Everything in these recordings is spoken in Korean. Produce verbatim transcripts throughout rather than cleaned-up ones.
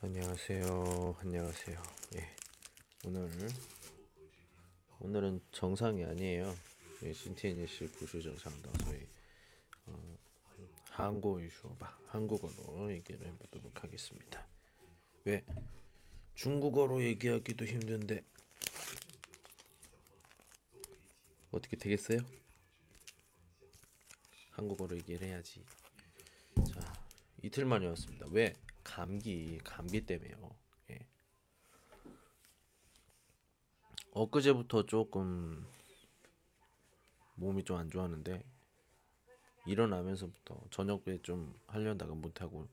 안녕하세요. 안녕하세요. 예. 오늘 오늘은 정상이 아니에요. 예, 신티니시 구슈 정상다. 저희 어, 한국 유슈어바 한국어로 얘기를 해보도록 하겠습니다. 왜 중국어로 얘기하기도 힘든데 어떻게 되겠어요? 한국어로 얘기를 해야지. 자, 이틀 만에 왔습니다. 왜? 감기 감기 때문에요. 예. 엊그제부터 조금 몸이 좀 안 좋았는데 일어나면서부터 저녁에 좀 하려다가 못하고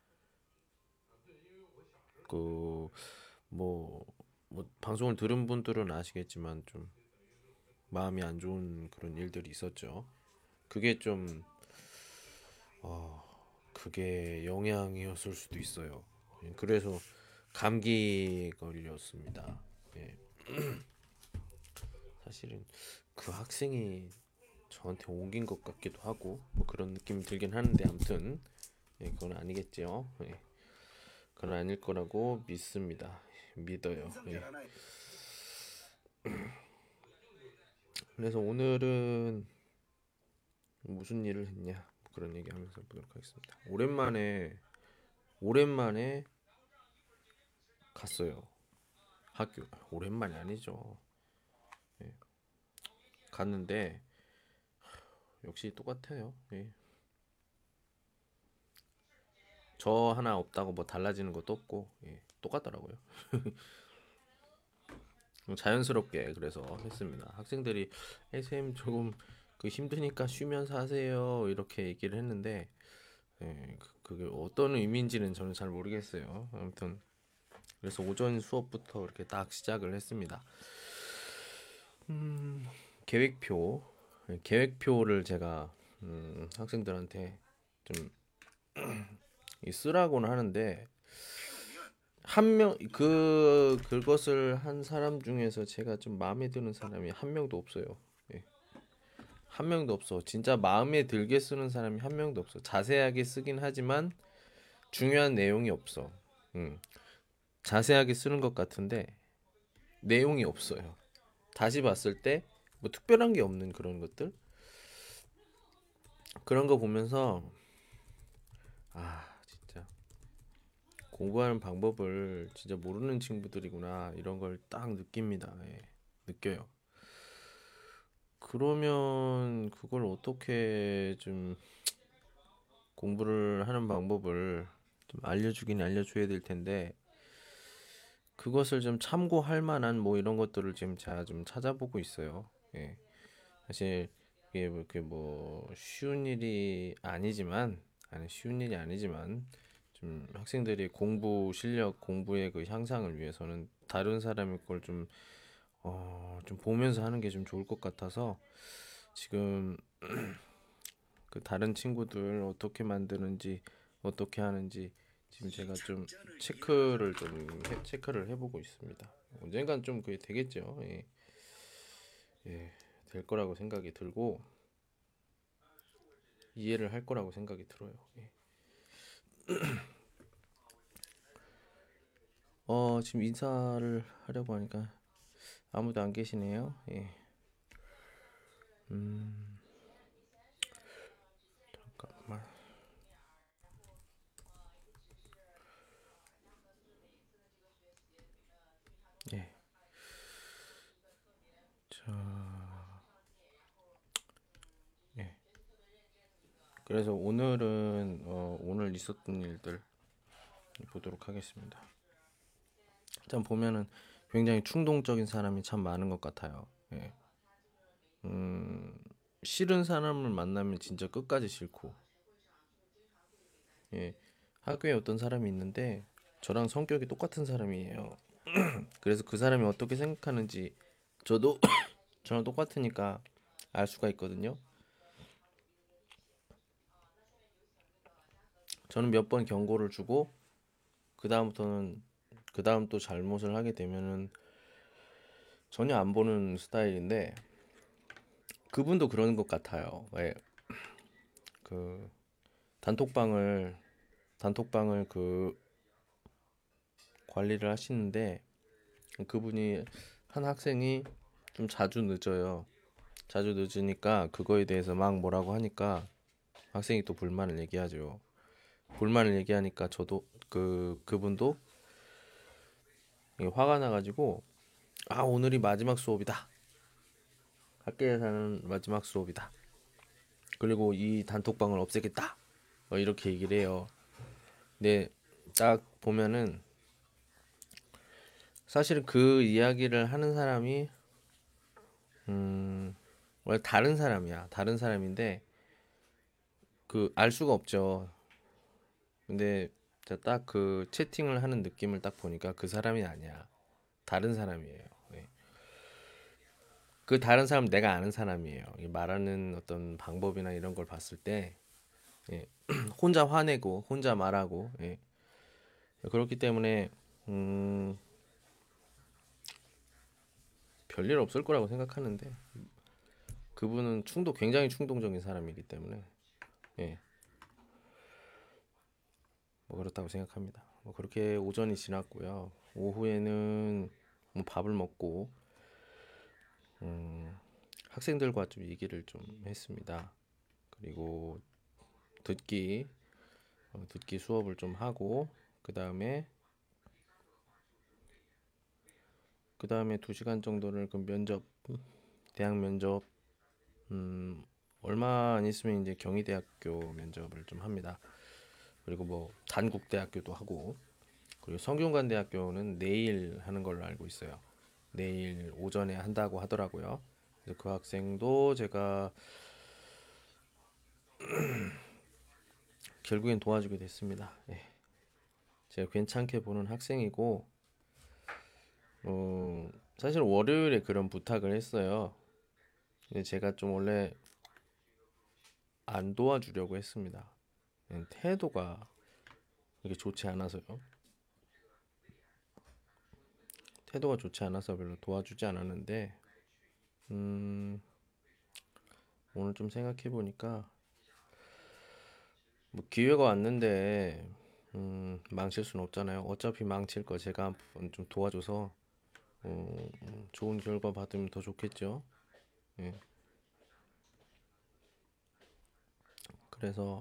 그 뭐 뭐 방송을 들은 분들은 아시겠지만 좀 마음이 안 좋은 그런 일들이 있었죠. 그게 좀 어, 그게 영향이었을 수도 있어요. 예, 그래서 감기 걸렸습니다. 예, 사실은 그 학생이 저한테 옮긴 것 같기도 하고 뭐 그런 느낌이 들긴 하는데 아무튼 예, 그건 아니겠죠. 예, 그건 아닐 거라고 믿습니다. 믿어요. 예. 그래서 오늘은 무슨 일을 했냐 뭐 그런 얘기하면서 보도록 하겠습니다. 오랜만에 오랜만에 갔어요. 학교 오랜만이 아니죠. 예, 갔는데 역시 똑같아요. 예. 저 하나 없다고 뭐 달라지는 것도 없고 예, 똑같더라고요. 자연스럽게 그래서 했습니다. 학생들이 쌤 조금 그 힘드니까 쉬면서 하세요 이렇게 얘기를 했는데 예, 그- 그게 어떤 의미인지는 저는 잘 모르겠어요. 아무튼 그래서 오전 수업부터 이렇게 딱 시작을 했습니다. 음, 계획표, 계획표를 제가 음, 학생들한테 좀 쓰라고는 하는데 한 명, 그 그것을 한 사람 중에서 제가 좀 마음에 드는 사람이 한 명도 없어요. 예, 한 명도 없어. 진짜 마음에 들게 쓰는 사람이 한 명도 없어. 자세하게 쓰긴 하지만 중요한 내용이 없어. 음, 자세하게 쓰는 것 같은데 내용이 없어요. 다시 봤을 때 뭐 특별한 게 없는 그런 것들 그런 거 보면서 아 진짜 공부하는 방법을 진짜 모르는 친구들이구나 이런 걸 딱 느낍니다. 예, 느껴요. 그러면 그걸 어떻게 좀 공부를 하는 방법을 좀 알려주긴 알려줘야 될 텐데 그것을 좀 참고할 만한 뭐 이런 것들을 지금 제가 좀 찾아보고 있어요. 예. 사실 이게 뭐, 그뭐 쉬운 일이 아니지만 아니 쉬운 일이 아니지만 좀 학생들이 공부 실력 공부의 그 향상을 위해서는 다른 사람의 걸 좀 어, 좀 보면서 하는 게 좀 좋을 것 같아서 지금 그 다른 친구들 어떻게 만드는지 어떻게 하는지 지금 제가 좀 체크를 좀 해, 체크를 해보고 있습니다. 언젠간 좀 그게 되겠죠. 예, 예, 될 거라고 생각이 들고 이해를 할 거라고 생각이 들어요. 예. 어, 지금 인사를 하려고 하니까 아무도 안 계시네요. 예. 음, 잠깐만. 예. 자, 예. 그래서 오늘은 어, 오늘 있었던 일들 보도록 하겠습니다. 참 보면은 굉장히 충동적인 사람이 참 많은 것 같아요. 예. 음, 싫은 사람을 만나면 진짜 끝까지 싫고, 예. 학교에 어떤 사람이 있는데 저랑 성격이 똑같은 사람이에요. 그래서 그 사람이 어떻게 생각하는지 저도 저랑 똑같으니까 알 수가 있거든요. 저는 몇 번 경고를 주고 그 다음부터는 그 다음 또 잘못을 하게 되면은 전혀 안 보는 스타일인데 그분도 그러는 것 같아요. 왜 그 단톡방을 단톡방을 그 관리를 하시는데 그분이 한 학생이 좀 자주 늦어요. 자주 늦으니까 그거에 대해서 막 뭐라고 하니까 학생이 또 불만을 얘기하죠. 불만을 얘기하니까 저도 그 그분도 화가 나가지고 아 오늘이 마지막 수업이다. 학교에서는 마지막 수업이다. 그리고 이 단톡방을 없애겠다. 뭐 이렇게 얘기를 해요. 근데 딱 보면은 사실 그 이야기를 하는 사람이 음 원래 다른 사람이야. 다른 사람인데 그 알 수가 없죠. 근데 딱 그 채팅을 하는 느낌을 딱 보니까 그 사람이 아니야. 다른 사람이에요. 네. 그 다른 사람 내가 아는 사람이에요. 말하는 어떤 방법이나 이런 걸 봤을 때 예. 혼자 화내고 혼자 말하고 예. 그렇기 때문에 음, 별일 없을 거라고 생각하는데 그분은 충동 굉장히 충동적인 사람이기 때문에 예. 뭐 그렇다고 생각합니다. 뭐 그렇게 오전이 지났고요. 오후에는 뭐 밥을 먹고 음, 학생들과 좀 얘기를 좀 했습니다. 그리고 듣기 어, 듣기 수업을 좀 하고 그 다음에 그 다음에 두 시간 정도를 그 면접 대학 면접 음, 얼마 안 있으면 이제 경희대학교 면접을 좀 합니다. 그리고 뭐 단국대학교도 하고 그리고 성균관대학교는 내일 하는 걸로 알고 있어요. 내일 오전에 한다고 하더라고요. 그래서 그 학생도 제가 결국엔 도와주게 됐습니다. 예. 제가 괜찮게 보는 학생이고 어, 사실 월요일에 그런 부탁을 했어요. 근데 제가 좀 원래 안 도와주려고 했습니다. 태도가 이게 좋지 않아서요. 태도가 좋지 않아서 별로 도와주지 않았는데 음, 오늘 좀 생각해 보니까 뭐 기회가 왔는데 음, 망칠 수는 없잖아요. 어차피 망칠 거 제가 한번 좀 도와줘서 어, 음, 좋은 결과 받으면 더 좋겠죠. 예. 그래서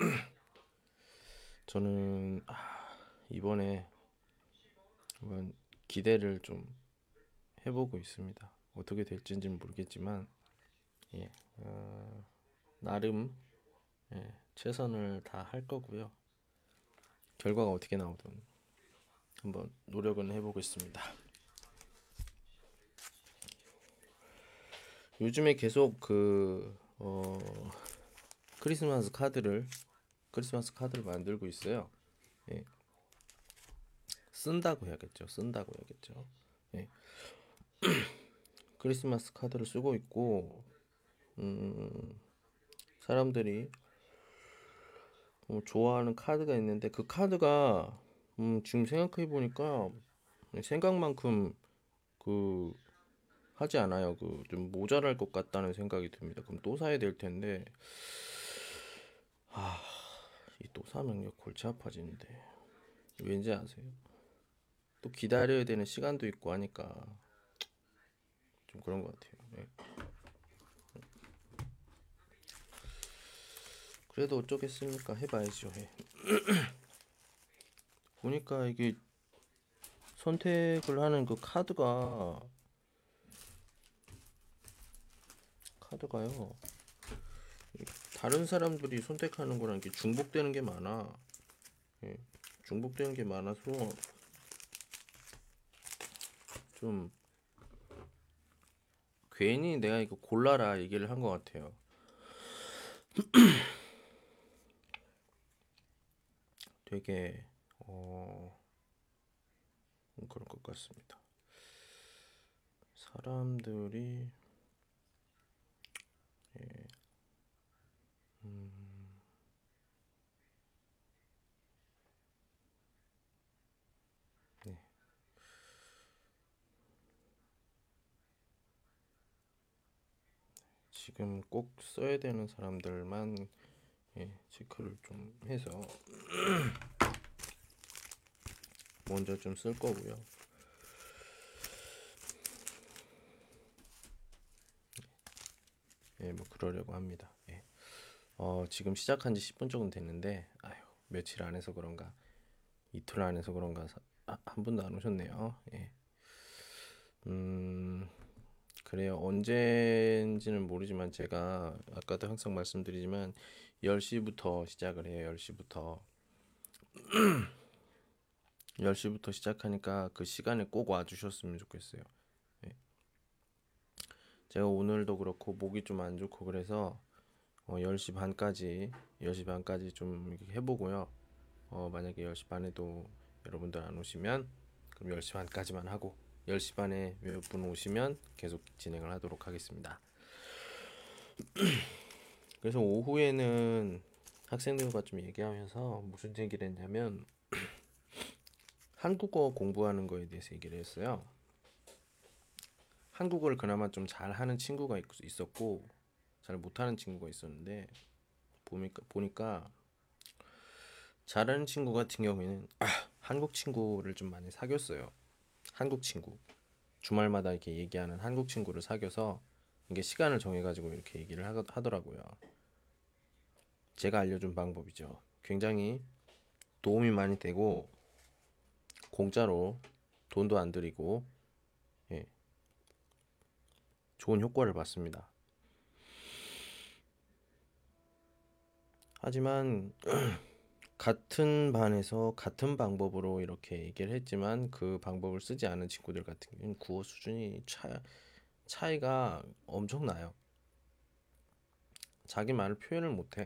저는 아, 이번에 한번 기대를 좀 해보고 있습니다. 어떻게 될지는 모르겠지만 예, 어, 나름 예, 최선을 다 할 거고요. 결과가 어떻게 나오든 한번 노력은 해보겠습니다. 요즘에 계속 그 어, 크리스마스 카드를 크리스마스 카드를 만들고 있어요. 예, 쓴다고 해야겠죠. 쓴다고 해야겠죠. 예, 크리스마스 카드를 쓰고 있고 음, 사람들이 어, 좋아하는 카드가 있는데 그 카드가 음, 지금 생각해 보니까 생각만큼 그 하지 않아요. 그 좀 모자랄 것 같다는 생각이 듭니다. 그럼 또 사야 될 텐데 아, 이 또 사면 골치 아파지는데 왠지 아세요? 또 기다려야 되는 시간도 있고 하니까 좀 그런 것 같아요. 네. 그래도 어쩌겠습니까? 해봐야죠. 해. 보니까 이게 선택을 하는 그 카드가 카드가요. 다른 사람들이 선택하는 거랑 이게 중복되는 게 많아. 예, 중복되는 게 많아서 좀 괜히 내가 이거 골라라 얘기를 한 것 같아요. 되게 어 그런 것 같습니다. 사람들이 예, 음, 네. 지금 꼭 써야 되는 사람들만 예, 체크를 좀 해서 먼저 좀 쓸 거고요. 예, 뭐 그러려고 합니다. 예. 어, 지금 시작한 지 십 분 정도 됐는데, 아휴, 며칠 안 해서 그런가, 이틀 안 해서 그런가, 사, 아, 한 분도 안 오셨네요. 예. 음, 그래요. 언제인지는 모르지만 제가 아까도 항상 말씀드리지만 열 시부터 시작을 해요. 열 시부터. 열 시부터 시작하니까 그 시간에 꼭 와주셨으면 좋겠어요. 예. 제가 오늘도 그렇고 목이 좀 안 좋고 그래서 어, 열 시 반까지 열 시 반까지 좀 이렇게 해보고요. 어, 만약에 열 시 반에도 여러분들 안 오시면 그럼 열 시 반까지만 하고 열 시 반에 몇 분 오시면 계속 진행을 하도록 하겠습니다. 그래서 오후에는 학생들과 좀 얘기하면서 무슨 얘기를 했냐면 한국어 공부하는 거에 대해서 얘기를 했어요. 한국어를 그나마 좀 잘하는 친구가 있- 있었고 잘 못하는 친구가 있었는데 보니까, 보니까 잘하는 친구 같은 경우에는 아, 한국 친구를 좀 많이 사귀었어요. 한국 친구. 주말마다 이렇게 얘기하는 한국 친구를 사귀어서 이게 시간을 정해가지고 이렇게 얘기를 하, 하더라고요. 제가 알려준 방법이죠. 굉장히 도움이 많이 되고 공짜로 돈도 안 들이고 예, 좋은 효과를 봤습니다. 하지만 같은 반에서 같은 방법으로 이렇게 얘기를 했지만 그 방법을 쓰지 않은 친구들 같은 경우는 국어 수준이 차, 차이가 엄청나요. 자기 말을 표현을 못해.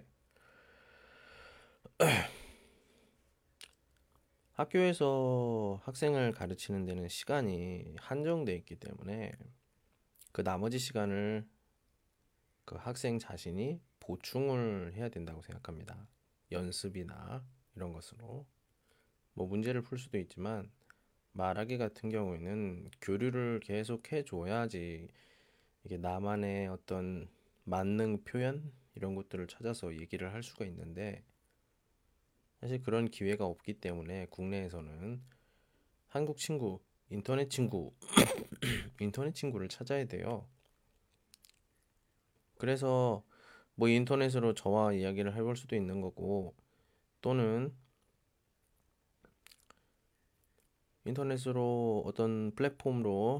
학교에서 학생을 가르치는 데는 시간이 한정돼 있기 때문에 그 나머지 시간을 그 학생 자신이 보충을 해야 된다고 생각합니다. 연습이나 이런 것으로. 뭐 문제를 풀 수도 있지만 말하기 같은 경우에는 교류를 계속 해줘야지 이게 나만의 어떤 만능 표현 이런 것들을 찾아서 얘기를 할 수가 있는데 사실 그런 기회가 없기 때문에 국내에서는 한국 친구, 인터넷 친구, 인터넷 친구를 찾아야 돼요. 그래서 뭐 인터넷으로 저와 이야기를 해볼 수도 있는 거고 또는 인터넷으로 어떤 플랫폼으로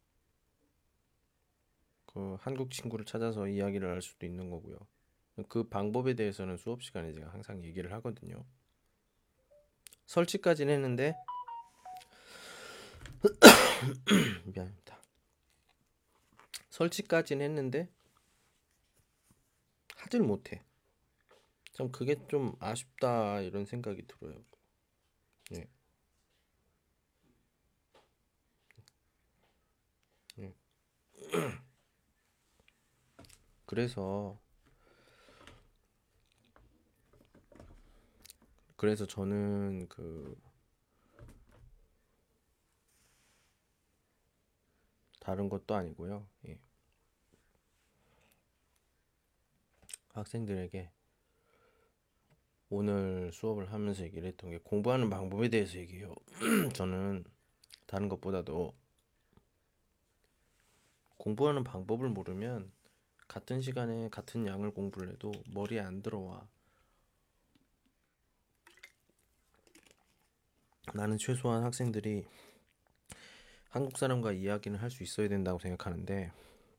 그 한국 친구를 찾아서 이야기를 할 수도 있는 거고요. 그 방법에 대해서는 수업 시간에 제가 항상 얘기를 하거든요. 설치까지는 했는데 미안합니다. 설치까지는 했는데 하질 못해. 참 그게 좀 아쉽다 이런 생각이 들어요. 예. 예. 그래서 그래서 저는 그 다른 것도 아니고요. 예. 학생들에게 오늘 수업을 하면서 얘기를 했던 게 공부하는 방법에 대해서 얘기해요. 저는 다른 것보다도 공부하는 방법을 모르면 같은 시간에 같은 양을 공부를 해도 머리에 안 들어와. 나는 최소한 학생들이 한국 사람과 이야기는 할 수 있어야 된다고 생각하는데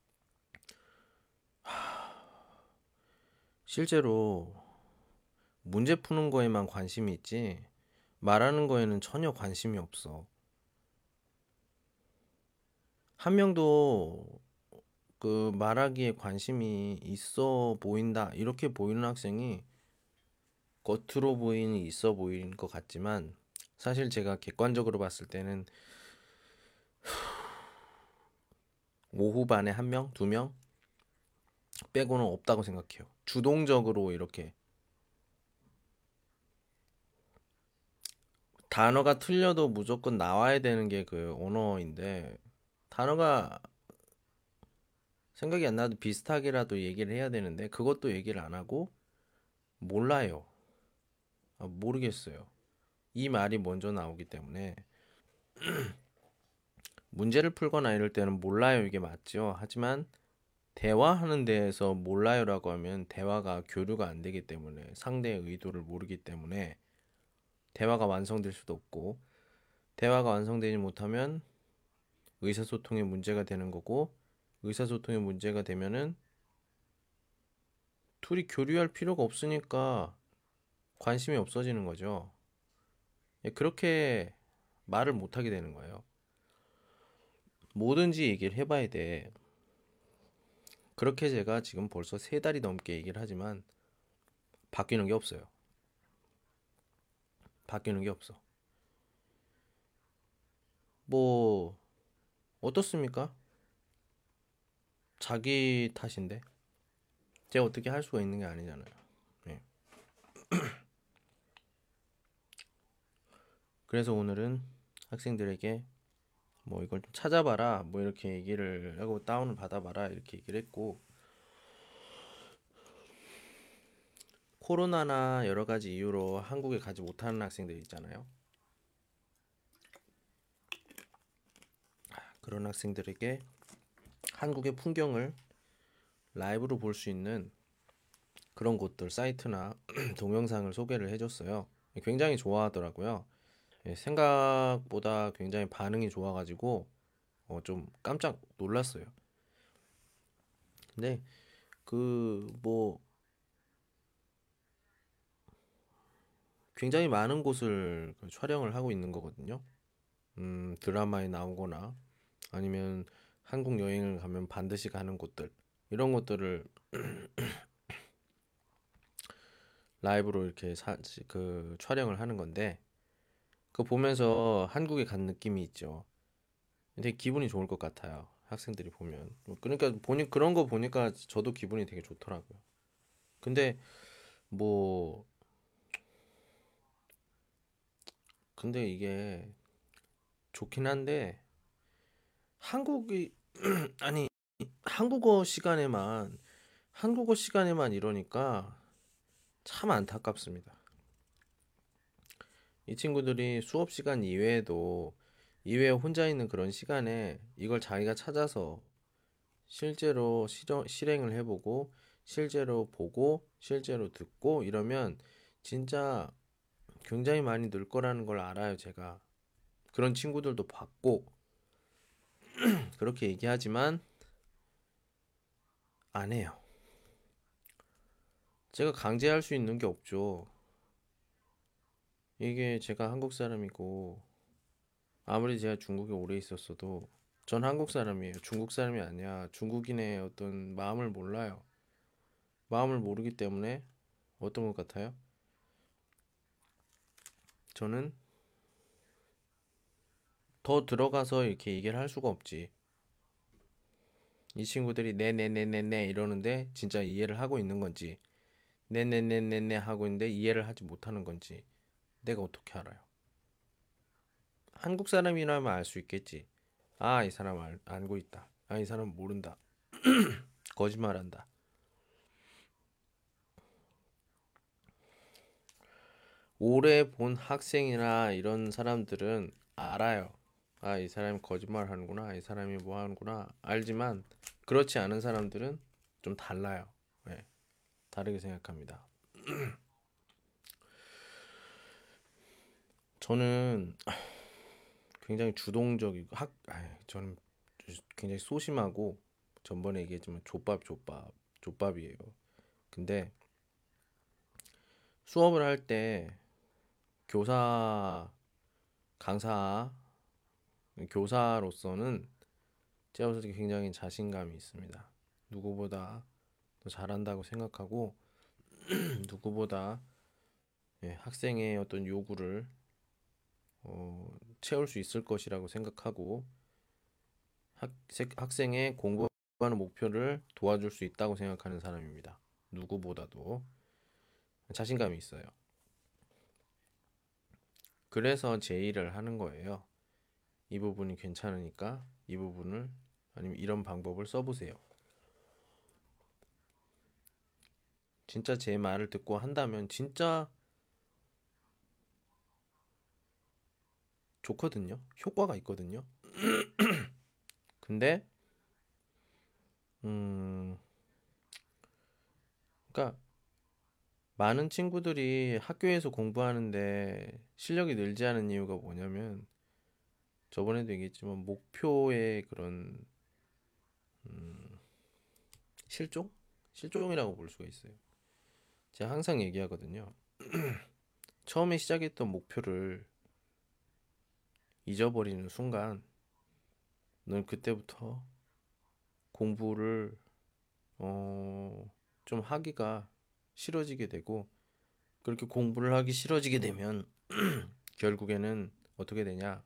실제로 문제 푸는 거에만 관심이 있지 말하는 거에는 전혀 관심이 없어. 한 명도 그 말하기에 관심이 있어 보인다 이렇게 보이는 학생이 겉으로 보이는 있어 보이는 것 같지만 사실 제가 객관적으로 봤을 때는 오후 반에 한 명, 두 명 빼고는 없다고 생각해요. 주동적으로 이렇게 단어가 틀려도 무조건 나와야 되는 게 그 언어인데 단어가 생각이 안 나도 비슷하게라도 얘기를 해야 되는데 그것도 얘기를 안 하고 몰라요. 아, 모르겠어요. 이 말이 먼저 나오기 때문에 문제를 풀거나 이럴 때는 몰라요 이게 맞죠. 하지만 대화하는 데에서 몰라요라고 하면 대화가 교류가 안 되기 때문에 상대의 의도를 모르기 때문에 대화가 완성될 수도 없고 대화가 완성되지 못하면 의사소통에 문제가 되는 거고 의사소통에 문제가 되면은 둘이 교류할 필요가 없으니까 관심이 없어지는 거죠. 예, 그렇게 말을 못 하게 되는 거예요. 뭐든지 얘기를 해봐야 돼. 그렇게 제가 지금 벌써 세 달이 넘게 얘기를 하지만 바뀌는 게 없어요. 바뀌는 게 없어. 뭐 어떻습니까? 자기 탓인데 제가 어떻게 할 수가 있는 게 아니잖아요. 예. 그래서 오늘은 학생들에게 뭐 이걸 좀 찾아봐라 뭐 이렇게 얘기를 하고 다운을 받아봐라 이렇게 얘기를 했고 코로나나 여러 가지 이유로 한국에 가지 못하는 학생들 있잖아요. 그런 학생들에게 한국의 풍경을 라이브로 볼 수 있는 그런 곳들 사이트나 동영상을 소개를 해줬어요. 굉장히 좋아하더라고요. 예, 생각보다 굉장히 반응이 좋아가지고 어, 좀 깜짝 놀랐어요. 근데 그 뭐 굉장히 많은 곳을 그 촬영을 하고 있는 거거든요. 음, 드라마에 나오거나 아니면 한국 여행을 가면 반드시 가는 곳들 이런 것들을 라이브로 이렇게 사, 그 촬영을 하는 건데 그거 보면서 한국에 간 느낌이 있죠. 되게 기분이 좋을 것 같아요. 학생들이 보면. 그러니까 보니 그런 거 보니까 저도 기분이 되게 좋더라고요. 근데 뭐 근데 이게 좋긴 한데 한국이 아니 한국어 시간에만 한국어 시간에만 이러니까 참 안타깝습니다. 이 친구들이 수업 시간 이외에도 이외에 혼자 있는 그런 시간에 이걸 자기가 찾아서 실제로 실행, 실행을 해보고 실제로 보고 실제로 듣고 이러면 진짜 굉장히 많이 늘 거라는 걸 알아요, 제가. 그런 친구들도 봤고 그렇게 얘기하지만 안 해요. 제가 강제할 수 있는 게 없죠. 이게 제가 한국 사람이고 아무리 제가 중국에 오래 있었어도 전 한국 사람이에요. 중국 사람이 아니야. 중국인의 어떤 마음을 몰라요. 마음을 모르기 때문에 어떤 것 같아요? 저는 더 들어가서 이렇게 얘기를 할 수가 없지. 이 친구들이 네네네네네 이러는데 진짜 이해를 하고 있는 건지 네네네네네 하고 있는데 이해를 하지 못하는 건지 내가 어떻게 알아요? 한국 사람이라면 알 수 있겠지. 아, 이 사람 알, 알고 있다. 아, 이 사람 모른다. 거짓말한다. 오래 본 학생이나 이런 사람들은 알아요. 아, 이 사람이 거짓말 하는구나. 이 사람이 뭐 하는구나. 알지만 그렇지 않은 사람들은 좀 달라요. 네, 다르게 생각합니다. 저는 굉장히 주동적이고 학, 아이, 저는 굉장히 소심하고 전번에 얘기했지만 족밥 족밥 족밥이에요. 근데 수업을 할 때 교사 강사 교사로서는 제가 봤을 때 굉장히 자신감이 있습니다. 누구보다 더 잘한다고 생각하고 누구보다 예, 학생의 어떤 요구를 어, 채울 수 있을 것이라고 생각하고 학, 학생의 공부하는 목표를 도와줄 수 있다고 생각하는 사람입니다. 누구보다도 자신감이 있어요. 그래서 제 일을 하는 거예요. 이 부분이 괜찮으니까 이 부분을 아니면 이런 방법을 써보세요. 진짜 제 말을 듣고 한다면 진짜 좋거든요. 효과가 있거든요. 근데 음, 그러니까 많은 친구들이 학교에서 공부하는데 실력이 늘지 않은 이유가 뭐냐면 저번에도 얘기했지만 목표의 그런 음, 실종? 실종이라고 볼 수가 있어요. 제가 항상 얘기하거든요. 처음에 시작했던 목표를 잊어버리는 순간 넌 그때부터 공부를 어, 좀 하기가 싫어지게 되고 그렇게 공부를 하기 싫어지게 되면 결국에는 어떻게 되냐?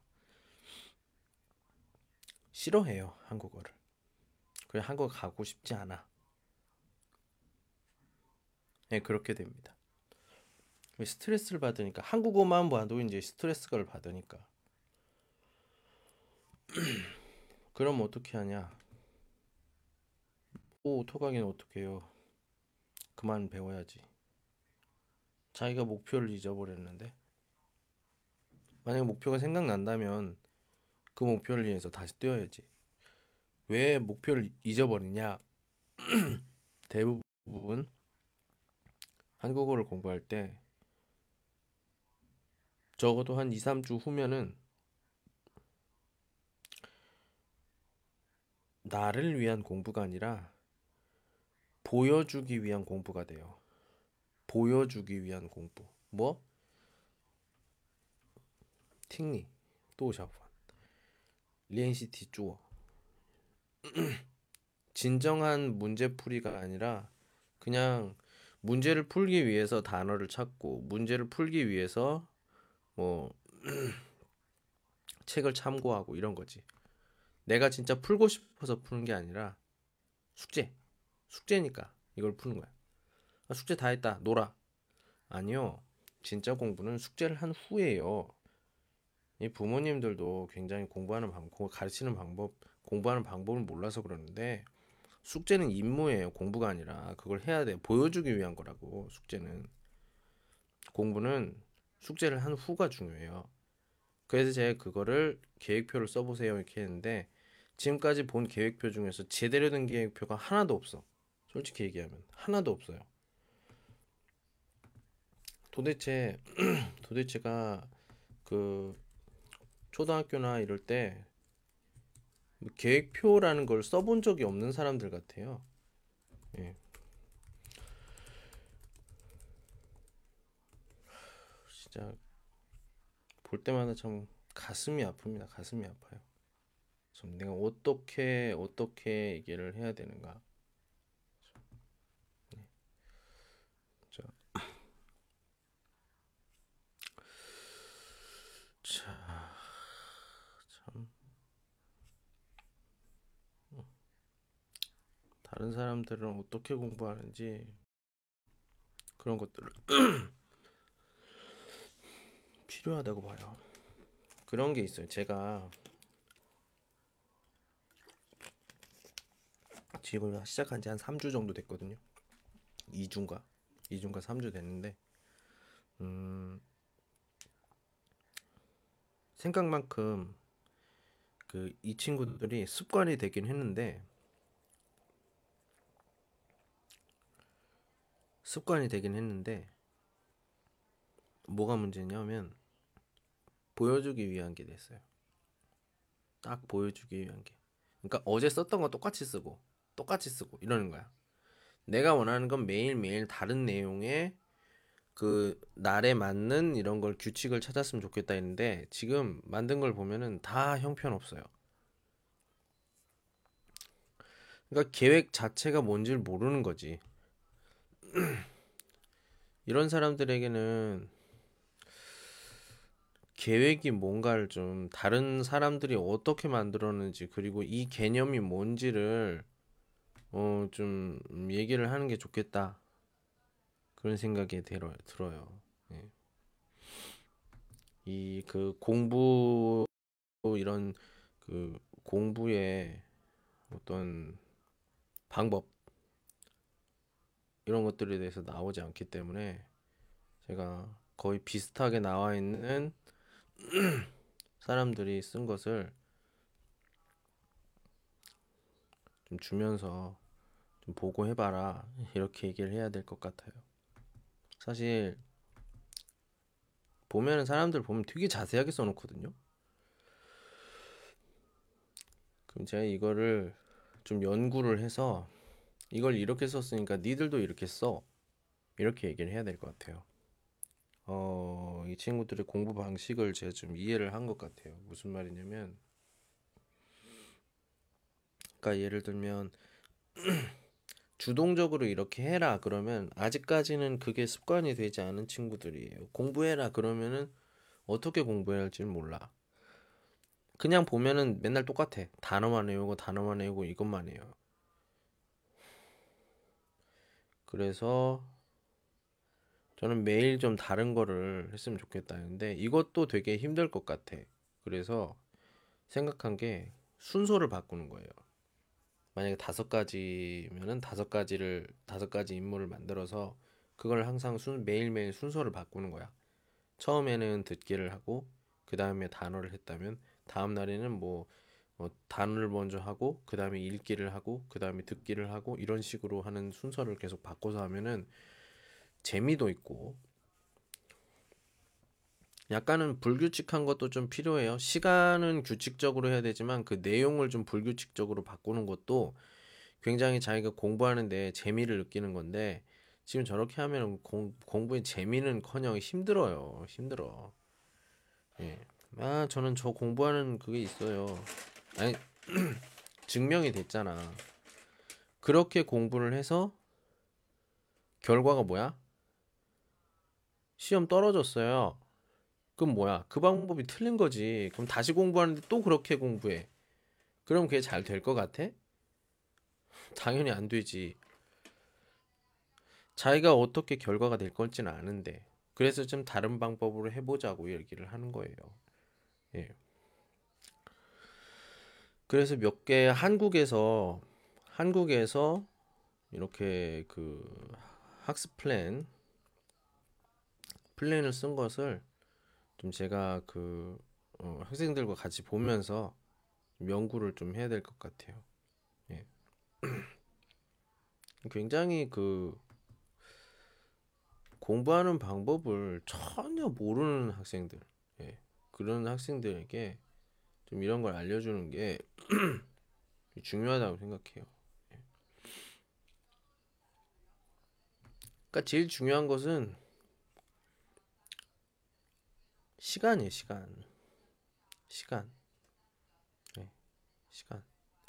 싫어해요, 한국어를. 그냥 한국어 가고 싶지 않아. 네, 그렇게 됩니다. 스트레스를 받으니까 한국어만 봐도 이제 스트레스를 받으니까 그럼 어떻게 하냐? 오, 토강이는 어떻게 해요? 그만 배워야지. 자기가 목표를 잊어버렸는데 만약 목표가 생각난다면 그 목표를 위해서 다시 뛰어야지. 왜 목표를 잊어버리냐? 대부분 한국어를 공부할 때 적어도 한 이, 삼 주 후면은 나를 위한 공부가 아니라 보여주기 위한 공부가 돼요. 보여주기 위한 공부. 뭐? 팅니, 또小烦. 리엔시티 쭈어. 진정한 문제풀이가 아니라 그냥 문제를 풀기 위해서 단어를 찾고 문제를 풀기 위해서 뭐 책을 참고하고 이런 거지. 내가 진짜 풀고 싶어서 푸는 게 아니라 숙제. 숙제니까 이걸 푸는 거야. 아, 숙제 다 했다. 놀아. 아니요. 진짜 공부는 숙제를 한 후에요. 이 부모님들도 굉장히 공부하는 방법, 가르치는 방법, 공부하는 방법을 몰라서 그러는데 숙제는 임무예요. 공부가 아니라 그걸 해야 돼. 보여주기 위한 거라고. 숙제는 공부는 숙제를 한 후가 중요해요. 그래서 제가 그거를 계획표를 써보세요 이렇게 했는데 지금까지 본 계획표 중에서 제대로 된 계획표가 하나도 없어. 솔직히 얘기하면 하나도 없어요. 도대체 도대체가 그 초등학교나 이럴 때 계획표라는 걸 써본 적이 없는 사람들 같아요. 예. 진짜 볼 때마다 참 가슴이 아픕니다. 가슴이 아파요. 좀 내가 어떻게 어떻게 얘기를 해야 되는가. 자, 자, 참 다른 사람들은 어떻게 공부하는지 그런 것들을 필요하다고 봐요. 그런 게 있어요. 제가 지금 시작한 지 한 삼 주 정도 됐거든요. 이 주인가? 이 주인가 삼 주 됐는데 음, 생각만큼 그 이 친구들이 습관이 되긴 했는데 습관이 되긴 했는데 뭐가 문제냐면 보여주기 위한 게 됐어요. 딱 보여주기 위한 게. 그러니까 어제 썼던 거 똑같이 쓰고 똑같이 쓰고 이러는 거야. 내가 원하는 건 매일매일 다른 내용의 그 날에 맞는 이런 걸 규칙을 찾았으면 좋겠다 했는데 지금 만든 걸 보면은 다 형편없어요. 그러니까 계획 자체가 뭔지를 모르는 거지. 이런 사람들에게는 계획이 뭔가를 좀 다른 사람들이 어떻게 만들었는지 그리고 이 개념이 뭔지를 어 좀 얘기를 하는 게 좋겠다 그런 생각이 들어, 들어요. 예. 이 그 공부 이런 그 공부의 어떤 방법 이런 것들에 대해서 나오지 않기 때문에 제가 거의 비슷하게 나와 있는 사람들이 쓴 것을 좀 주면서 좀 보고 해봐라 이렇게 얘기를 해야 될 것 같아요. 사실 보면은 사람들 보면 되게 자세하게 써놓거든요. 그럼 제가 이거를 좀 연구를 해서 이걸 이렇게 썼으니까 니들도 이렇게 써 이렇게 얘기를 해야 될 것 같아요. 어, 이 친구들의 공부 방식을 제가 좀 이해를 한 것 같아요. 무슨 말이냐면, 그러니까 예를 들면 주동적으로 이렇게 해라 그러면 아직까지는 그게 습관이 되지 않은 친구들이에요. 공부해라 그러면은 어떻게 공부해야 할지는 몰라. 그냥 보면은 맨날 똑같아. 단어만 외우고 단어만 외우고 이것만 해요. 그래서 저는 매일 좀 다른 거를 했으면 좋겠다는데 이것도 되게 힘들 것 같아. 그래서 생각한 게 순서를 바꾸는 거예요. 만약에 다섯 가지면은 다섯 가지를 다섯 가지 임무를 만들어서 그걸 항상 순, 매일매일 순서를 바꾸는 거야. 처음에는 듣기를 하고 그 다음에 단어를 했다면 다음 날에는 뭐 어, 단어를 먼저 하고 그 다음에 읽기를 하고 그 다음에 듣기를 하고 이런 식으로 하는 순서를 계속 바꿔서 하면은 재미도 있고 약간은 불규칙한 것도 좀 필요해요. 시간은 규칙적으로 해야 되지만 그 내용을 좀 불규칙적으로 바꾸는 것도 굉장히 자기가 공부하는데 재미를 느끼는 건데 지금 저렇게 하면 공, 공부에 재미는커녕 힘들어요. 힘들어. 예. 아, 저는 저 공부하는 그게 있어요. 아니, 증명이 됐잖아. 그렇게 공부를 해서 결과가 뭐야? 시험 떨어졌어요. 그럼 뭐야? 그 방법이 틀린 거지. 그럼 다시 공부하는데 또 그렇게 공부해. 그럼 그게 잘 될 것 같아? 당연히 안 되지. 자기가 어떻게 결과가 될 건지는 아는데. 그래서 좀 다른 방법으로 해보자고 얘기를 하는 거예요. 예. 그래서 몇 개 한국에서 한국에서 이렇게 그 학습 플랜 플랜을 쓴 것을 좀 제가 그 어, 학생들과 같이 보면서 좀 연구를 좀 해야 될 것 같아요. 예. 굉장히 그 공부하는 방법을 전혀 모르는 학생들, 예. 그런 학생들에게 좀 이런 걸 알려주는 게 중요하다고 생각해요. 예. 그러니까 제일 중요한 것은 시간이에요, 시간. 시간. 예, 시간.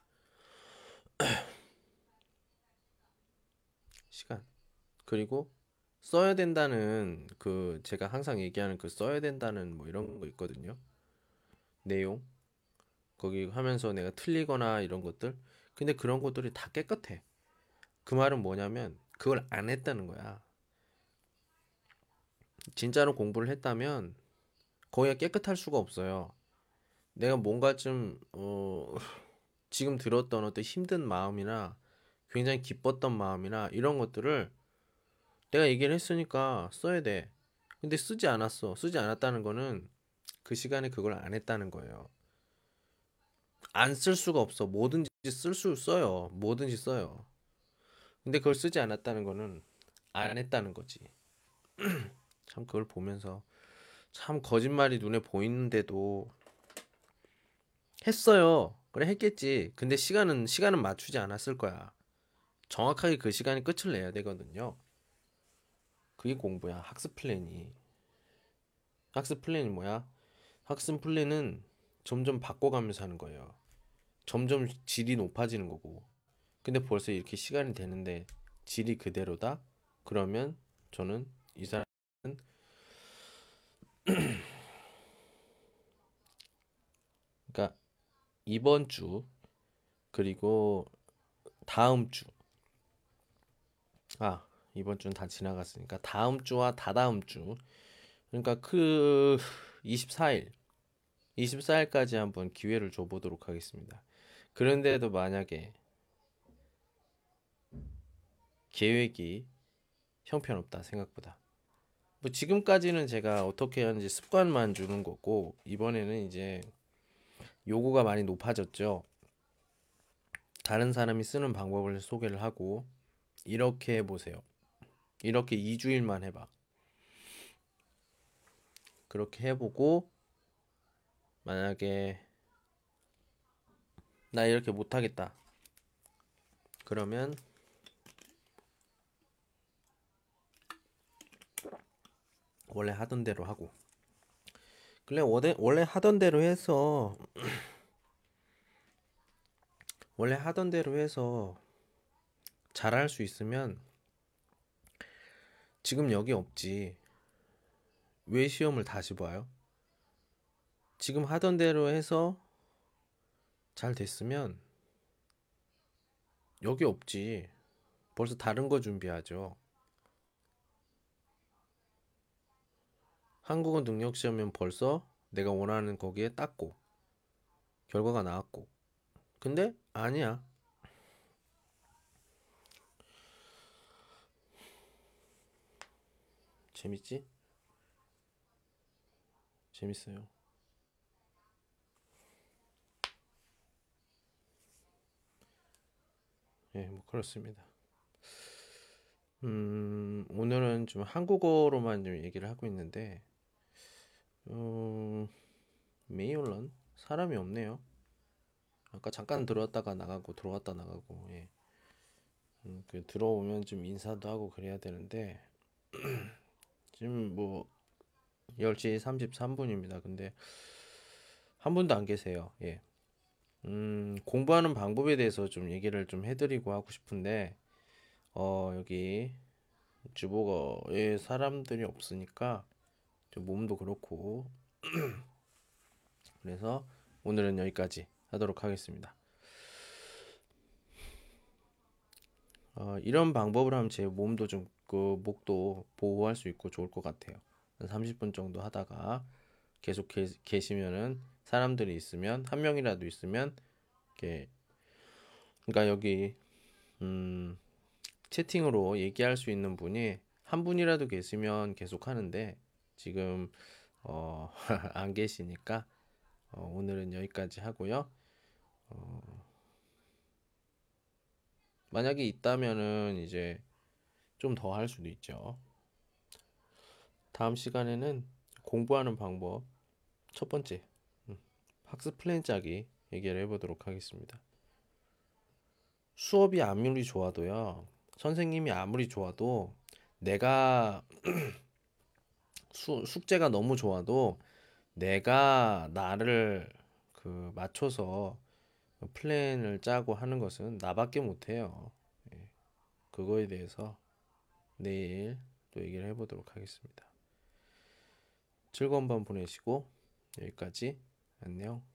시간. 그리고 써야 된다는 그 제가 항상 얘기하는 그 써야 된다는 뭐 이런 거 있거든요. 내용. 거기 하면서 내가 틀리거나 이런 것들. 근데 그런 것들이 다 깨끗해. 그 말은 뭐냐면 그걸 안 했다는 거야. 진짜로 공부를 했다면 거기가 깨끗할 수가 없어요. 내가 뭔가 좀 어, 지금 들었던 어떤 힘든 마음이나 굉장히 기뻤던 마음이나 이런 것들을 내가 얘기를 했으니까 써야 돼. 근데 쓰지 않았어. 쓰지 않았다는 거는 그 시간에 그걸 안 했다는 거예요. 안 쓸 수가 없어. 뭐든지 쓸 수 써요. 뭐든지 써요. 근데 그걸 쓰지 않았다는 거는 안 했다는 거지. 참 그걸 보면서 참 거짓말이 눈에 보이는데도 했어요. 그래 했겠지. 근데 시간은 시간은 맞추지 않았을 거야. 정확하게 그 시간에 끝을 내야 되거든요. 그게 공부야. 학습 플랜이. 학습 플랜이 뭐야? 학습 플랜은 점점 바꿔가면서 하는 거예요. 점점 질이 높아지는 거고. 근데 벌써 이렇게 시간이 되는데 질이 그대로다? 그러면 저는 이 사람은 그러니까 이번 주 그리고 다음 주. 아, 이번 주는 다 지나갔으니까 다음 주와 다다음 주. 그러니까 그 이십사 일, 이십사 일까지 한번 기회를 줘보도록 하겠습니다. 그런데도 만약에 계획이 형편없다 생각보다 뭐 지금까지는 제가 어떻게 하는지 습관만 주는 거고, 이번에는 이제 요구가 많이 높아졌죠. 다른 사람이 쓰는 방법을 소개를 하고, 이렇게 해보세요. 이렇게 이 주일만 해봐. 그렇게 해보고, 만약에 나 이렇게 못하겠다. 그러면 원래 하던 대로 하고. 그래, 원래, 원래 하던 대로 해서, 원래 하던 대로 해서 잘할 수 있으면 지금 여기 없지. 왜 시험을 다시 봐요? 지금 하던 대로 해서 잘 됐으면 여기 없지. 벌써 다른 거 준비하죠. 한국어 능력 시험은 벌써 내가 원하는 거기에 땄고 결과가 나왔고. 근데 아니야. 재밌지? 재밌어요. 예, 뭐 그렇습니다. 음, 오늘은 좀 한국어로만 좀 얘기를 하고 있는데, 음, 메이올런 사람이 없네요. 아까 잠깐 들어왔다가 나가고 들어왔다 나가고. 예. 음, 그 들어오면 좀 인사도 하고 그래야 되는데 지금 뭐 열 시 삼십삼 분입니다. 근데 한 분도 안 계세요. 예. 음, 공부하는 방법에 대해서 좀 얘기를 좀 해드리고 하고 싶은데, 어, 여기 주보거에 사람들이 없으니까 좀 몸도 그렇고, 그래서 오늘은 여기까지 하도록 하겠습니다. 어, 이런 방법을 하면 제 몸도 좀, 그, 목도 보호할 수 있고 좋을 것 같아요. 한 삼십 분 정도 하다가 계속 계, 계시면은 사람들이 있으면, 한 명이라도 있으면, 이렇게, 그러니까 여기, 음, 채팅으로 얘기할 수 있는 분이 한 분이라도 계시면 계속 하는데, 지금, 어, 안 계시니까, 어, 오늘은 여기까지 하고요. 어, 만약에 있다면은 이제 좀 더 할 수도 있죠. 다음 시간에는 공부하는 방법 첫 번째 음, 학습 플랜 짜기 얘기를 해보도록 하겠습니다. 수업이 아무리 좋아도요, 선생님이 아무리 좋아도 내가 수, 숙제가 너무 좋아도 내가 나를 그 맞춰서 플랜을 짜고 하는 것은 나밖에 못해요. 예, 그거에 대해서 내일 또 얘기를 해보도록 하겠습니다. 즐거운 밤 보내시고 여기까지 안녕.